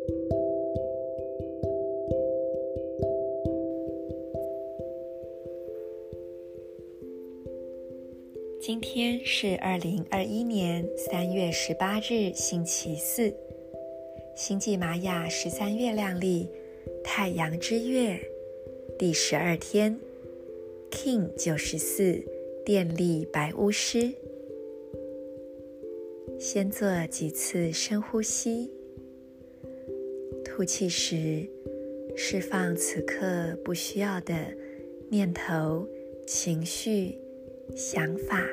今天是2021年3月18日星期四，星际玛雅13月亮历太阳之月第12天 King 94电力白巫师。先做几次深呼吸，吐气时释放此刻不需要的念头、情绪、想法，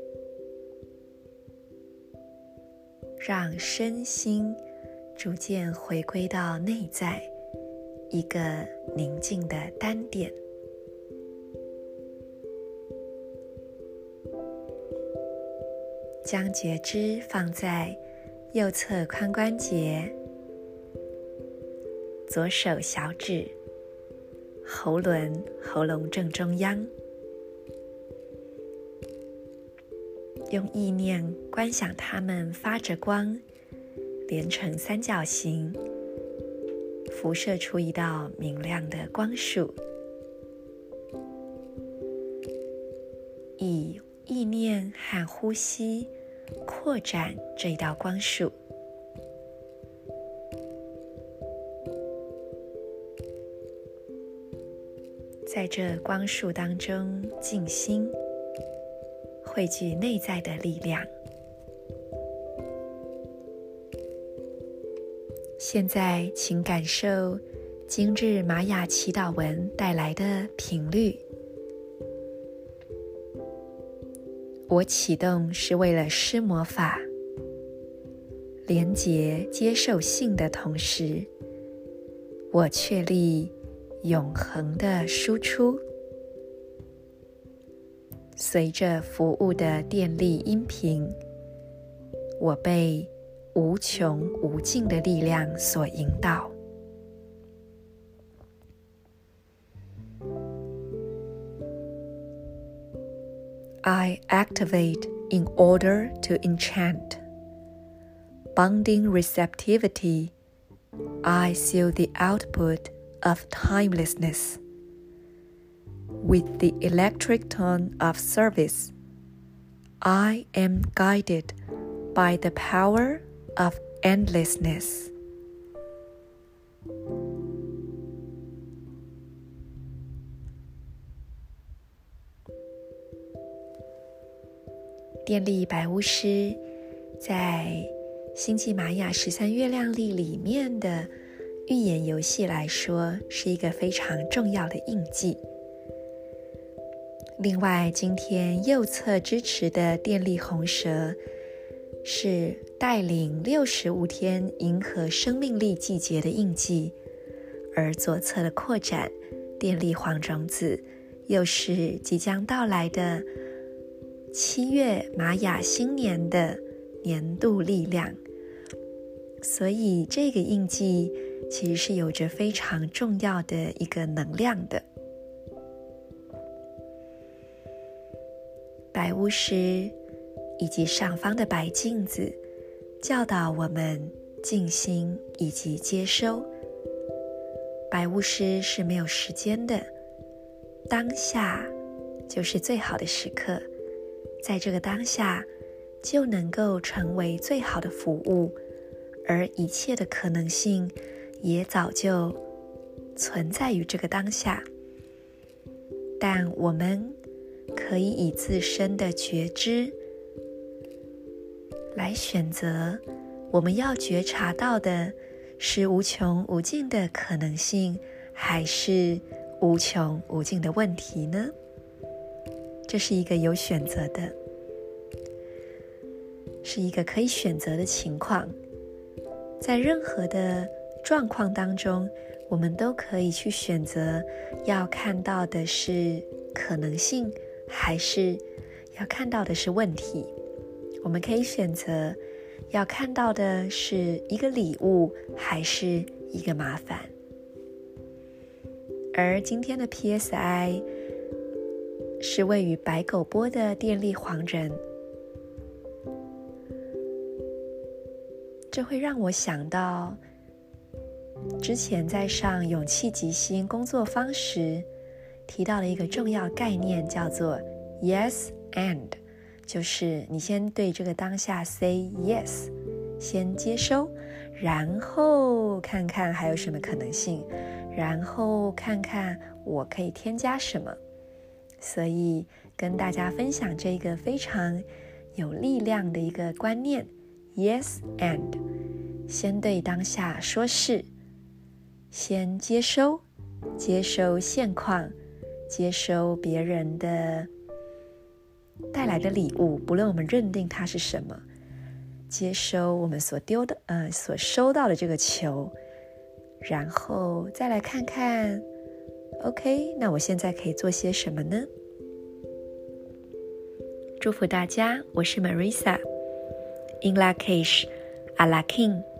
让身心逐渐回归到内在一个宁静的单点。将觉知放在右侧髋关节、左手小指、喉咙正中央，用意念观想它们发着光，连成三角形，辐射出一道明亮的光束。以意念和呼吸扩展这一道光束，在这光束当中静心，汇聚内在的力量。现在请感受今日玛雅祈祷文带来的频率。我启动是为了施魔法，连结接受性的同时，我确立永恒的输出。随着服务的电力音频，我被无穷无尽的力量所引导。I activate in order to enchant. Bonding receptivity, I seal the output of timelessness. With the electric tone of service, I am guided by the power of endlessness.电力白巫师在星际玛雅13月亮历里面的预言游戏来说，是一个非常重要的印记。另外，今天右侧支持的电力红蛇是带领65天银河生命力季节的印记，而左侧的扩展电力黄种子又是即将到来的7月玛雅新年的年度力量。所以这个印记其实是有着非常重要的一个能量的。白巫师以及上方的白镜子教导我们静心以及接收。白巫师是没有时间的，当下就是最好的时刻，在这个当下就能够成为最好的服务，而一切的可能性也早就存在于这个当下。但我们可以以自身的觉知来选择，我们要觉察到的是无穷无尽的可能性，还是无穷无尽的问题呢？这是一个有选择的，是一个可以选择的情况。在任何的状况当中，我们都可以去选择要看到的是可能性，还是要看到的是问题。我们可以选择要看到的是一个礼物，还是一个麻烦。而今天的 PSI 是位于白狗波的电力黄人，这会让我想到之前在上勇气即兴工作坊时提到了一个重要概念，叫做 Yes and， 就是你先对这个当下 say yes， 先接收，然后看看还有什么可能性，然后看看我可以添加什么。所以跟大家分享这个非常有力量的一个观念 Yes and， 先对当下说是，先接收现况，接收别人的带来的礼物，不论我们认定它是什么，接收我们所收到的这个球，然后再来看看 OK， 那我现在可以做些什么呢？祝福大家，我是 Marisa， In Lak'ech, A La King。